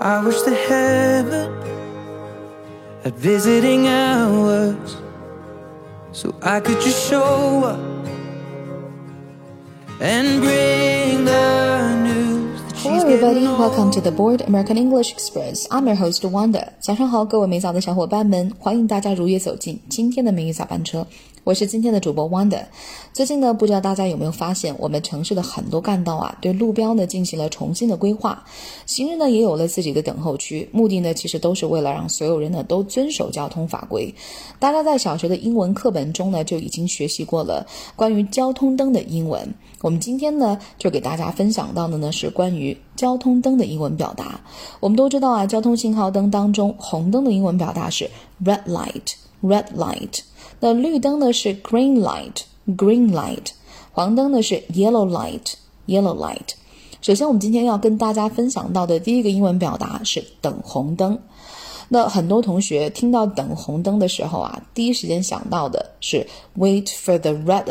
I wish the heaven had visiting hours, so I could just show up and bring the news that she's Hello everybody, getting old. welcome to the Board American English Express. I'm your host Wanda. 早上好，各位美早的小伙伴们，欢迎大家如约走进今天的美语早班车。我是今天的主播 Wanda。最近呢，不知道大家有没有发现，我们城市的很多干道啊，对路标呢进行了重新的规划，行人呢也有了自己的等候区，目的呢其实都是为了让所有人呢都遵守交通法规。大家在小学的英文课本中呢就已经学习过了关于交通灯的英文。我们今天呢就给大家分享到的呢是关于交通灯的英文表达。我们都知道啊，交通信号灯当中红灯的英文表达是 red light。那绿灯呢是 green light， 黄灯呢是 yellow light。 首先我们今天要跟大家分享到的第一个英文表达是等红灯。那很多同学听到等红灯的时候啊，第一时间想到的是 wait for the red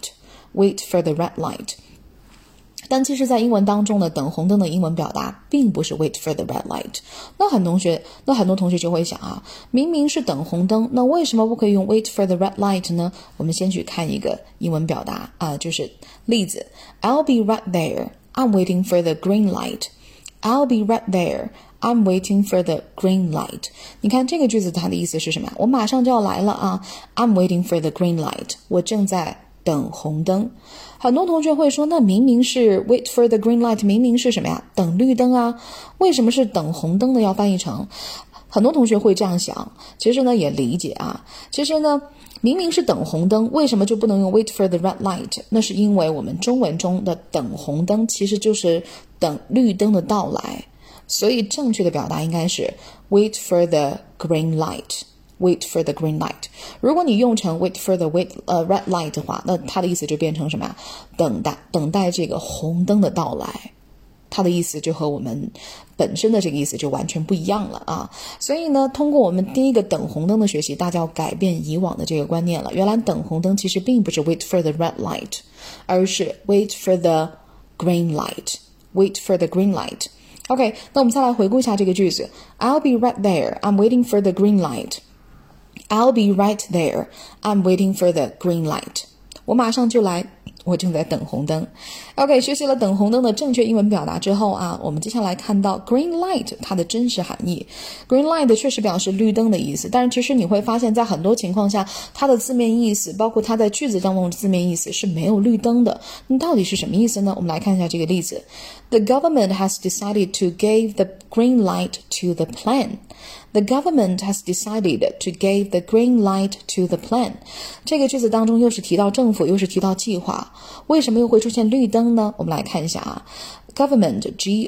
light。但其实在英文当中呢，等红灯的英文表达并不是 wait for the red light。 那很多同学就会想啊，明明是等红灯，那为什么不可以用 wait for the red light 呢？我们先去看一个英文表达啊，就是例子 I'll be right there, I'm waiting for the green light. I'll be right there, I'm waiting for the green light. 你看这个句子它的意思是什么？我马上就要来了啊， I'm waiting for the green light. 我正在等红灯。很多同学会说，那明明是 wait for the green light， 明明是什么呀？等绿灯啊，为什么是等红灯呢？要翻译成，很多同学会这样想，其实呢也理解啊，其实呢明明是等红灯，为什么就不能用 wait for the red light？ 那是因为我们中文中的等红灯其实就是等绿灯的到来，所以正确的表达应该是 wait for the green light。Wait for the green light。 如果你用成 wait for the red light 的话，那它的意思就变成什么呀？等待这个红灯的到来，它的意思就和我们本身的这个意思就完全不一样了啊！所以呢，通过我们第一个等红灯的学习，大家要改变以往的这个观念了。原来等红灯其实并不是 wait for the red light， 而是 wait for the green light。Wait for the green light。OK， 那我们再来回顾一下这个句子 I'll be right there, I'm waiting for the green light。I'll be right there. I'm waiting for the green light. 我马上就来，我正在等红灯。OK， 学习了等红灯的正确英文表达之后啊，我们接下来看到 green light 它的真实含义。Green light 确实表示绿灯的意思，但是其实你会发现在很多情况下，它的字面意思，包括它在句子当中的字面意思是没有绿灯的。那到底是什么意思呢？我们来看一下这个例子。The government has decided to give the green light to the plan.The government has decided to give the green light to the plan. 这个句子当中又是提到政府，又是提到计划，为什么又会出现绿灯呢？我们来看一下啊 Government,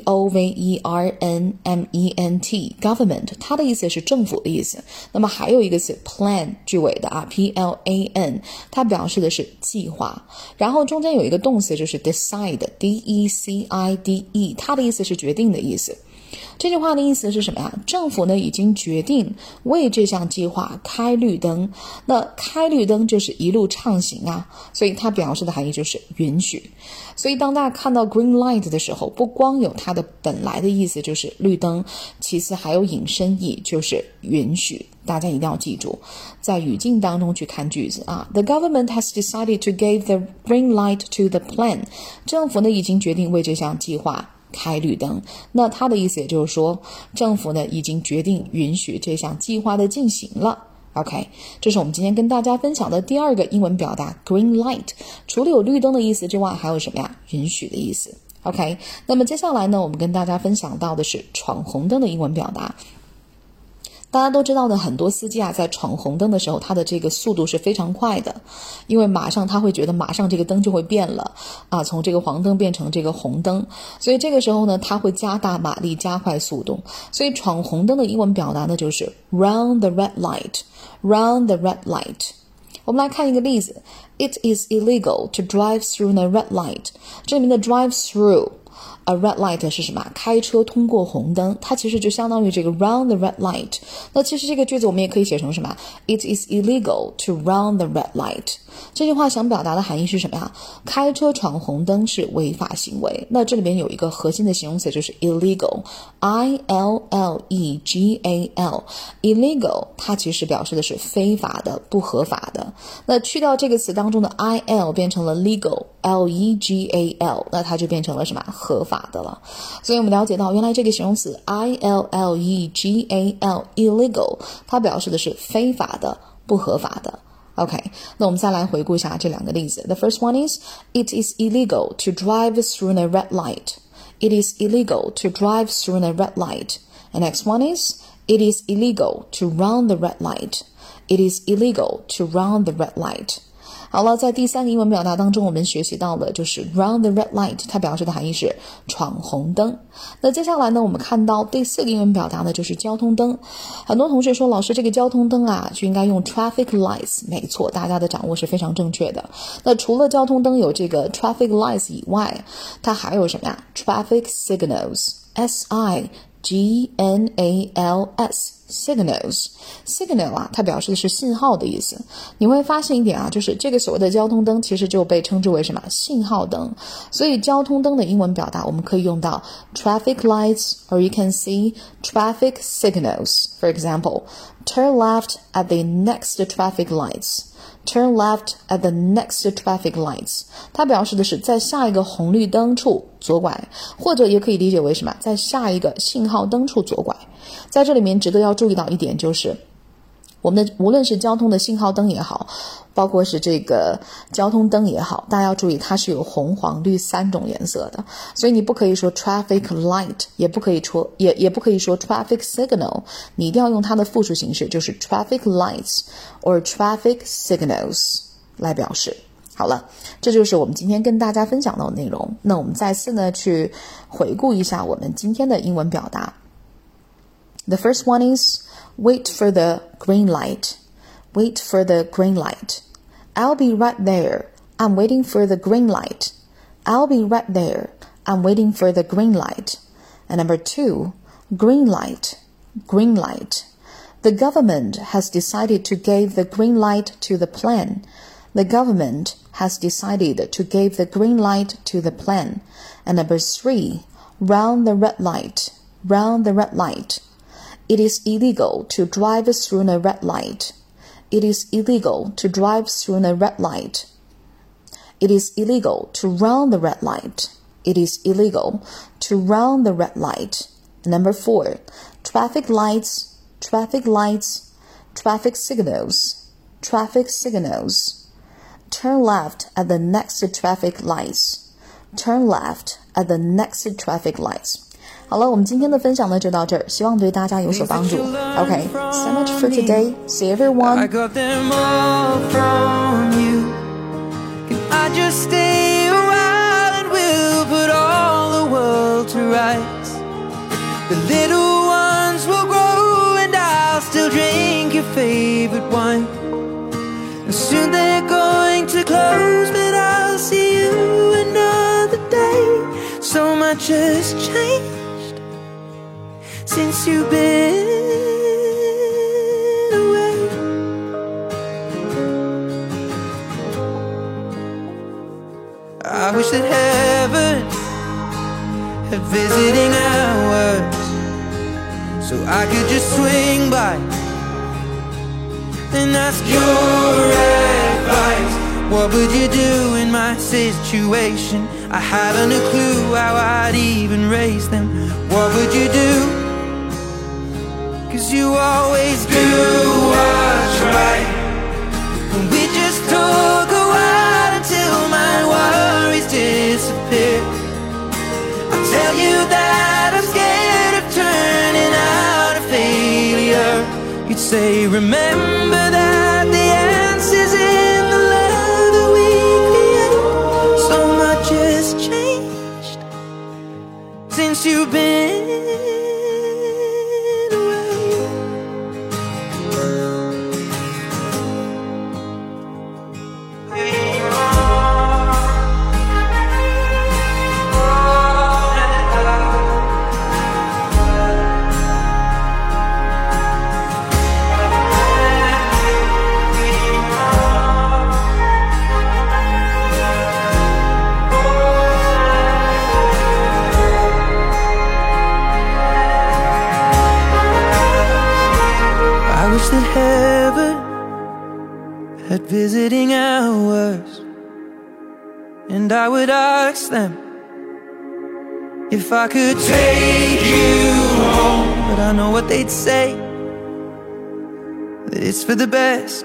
G-O-V-E-R-N-M-E-N-T Government 它的意思是政府的意思。那么还有一个词 plan 句尾的啊 P-L-A-N 它表示的是计划，然后中间有一个动词就是 decide D-E-C-I-D-E 它的意思是决定的意思。这句话的意思是什么呀？政府呢已经决定为这项计划开绿灯，那开绿灯就是一路畅行啊，所以它表示的含义就是允许。所以当大家看到 green light 的时候，不光有它的本来的意思就是绿灯，其次还有引申义就是允许。大家一定要记住，在语境当中去看句子啊。The government has decided to give the green light to the plan. 政府呢已经决定为这项计划开绿灯，那他的意思也就是说，政府呢已经决定允许这项计划的进行了。OK， 这是我们今天跟大家分享的第二个英文表达 green light。 除了有绿灯的意思之外，还有什么呀？允许的意思。OK， 那么接下来呢，我们跟大家分享到的是闯红灯的英文表达。大家都知道的，很多司机啊，在闯红灯的时候，他的这个速度是非常快的，因为马上他会觉得马上这个灯就会变了啊，从这个黄灯变成这个红灯，所以这个时候呢，他会加大马力，加快速度。所以闯红灯的英文表达呢，就是 run the red light。run the red light。我们来看一个例子 It is illegal to drive through the red light。 这里面的 drive through a red light 是什么？开车通过红灯，它其实就相当于这个 run the red light。那其实这个句子我们也可以写成什么？ It is illegal to run the red light。这句话想表达的含义是什么呀？开车闯红灯是违法行为。那这里边有一个核心的形容词就是 illegal， I-L-L-E-G-A-L。 illegal 它其实表示的是非法的、不合法的。那去掉这个词当中的 I-L 变成了 legal， L-E-G-A-L， 那它就变成了什么？合法的了。所以我们了解到原来这个形容词 I-L-L-E-G-A-L illegal 它表示的是非法的、不合法的。OK， 那我们再来回顾一下这两个例子。The first one is, it is illegal to drive through a red light. It is illegal to drive through a red light. The next one is, it is illegal to run the red light. It is illegal to run the red light. 好了，在第三个英文表达当中，我们学习到的就是 run the red light， 它表示的含义是闯红灯。那接下来呢，我们看到第四个英文表达呢，就是交通灯。很多同学说，老师这个交通灯啊，就应该用 traffic lights。没错，大家的掌握是非常正确的。那除了交通灯有这个 traffic lights 以外，它还有什么呀？ traffic signals， S-I-G-N-A-L-S signal 啊，它表示的是信号的意思。你会发现一点啊，就是这个所谓的交通灯其实就被称之为什么？信号灯。所以交通灯的英文表达我们可以用到 traffic lights, or you can see traffic signals. For example, turn left at the next traffic lights.Turn left at the next traffic lights. 它表示的是在下一个红绿灯处左拐，或者也可以理解为什么？在下一个信号灯处左拐。在这里面值得要注意到一点就是，我们的无论是交通的信号灯也好，包括是这个交通灯也好，大家要注意它是有红黄绿三种颜色的，所以你不可以说 traffic light， 也不可以说 traffic signal， 你一定要用它的复数形式，就是 traffic lights or traffic signals 来表示。好了，这就是我们今天跟大家分享到的内容。那我们再次呢去回顾一下我们今天的英文表达。The first one is wait for the green light. Wait for the green light. I'll be right there. I'm waiting for the green light. I'll be right there. I'm waiting for the green light. And number two, green light. Green light. The government has decided to give the green light to the plan. The government has decided to give the green light to the plan. And number three, run the red light. Run the red light.It is illegal to drive through a red light. It is illegal to drive through a red light. It is illegal to run the red light. It is illegal to run the red light. Number four, traffic lights, traffic lights, traffic signals, traffic signals. Turn left at the next traffic lights. Turn left at the next traffic lights.好了，我们今天的分享呢就到这儿，希望对大家有所帮助。Okay, so much for today. See everyone. I got them all from you. Can I just stay a while and we'll put all the world to rights? The little ones will grow and I'll still drink your favorite wine. And soon they're going to close, but I'll see you another day. So much has changed.Since you've been away, I wish that heaven had visiting hours, so I could just swing by and ask your advice. What would you do in my situation? I haven't a clue how I'd even raise them. What would you do?'Cause you always do what's right. And we just talk a while until my worries disappear. I'll tell you that I'm scared of turning out a failure. You'd say, remember that the answer's in the love that we create. So much has changed since you've been that heaven had visiting hours, and I would ask them if I could take you home. But I know what they'd say, that it's for the best.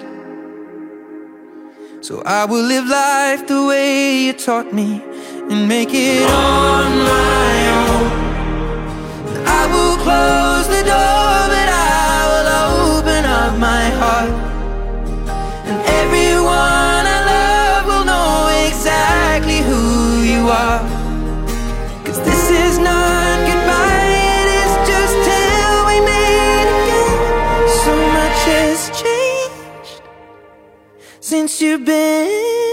So I will live life the way you taught me and make it on my own. I will close the door, but I will open up my heart, and everyone I love will know exactly who you are. 'Cause this is not goodbye, it is just till we meet again. So much has changed since you've been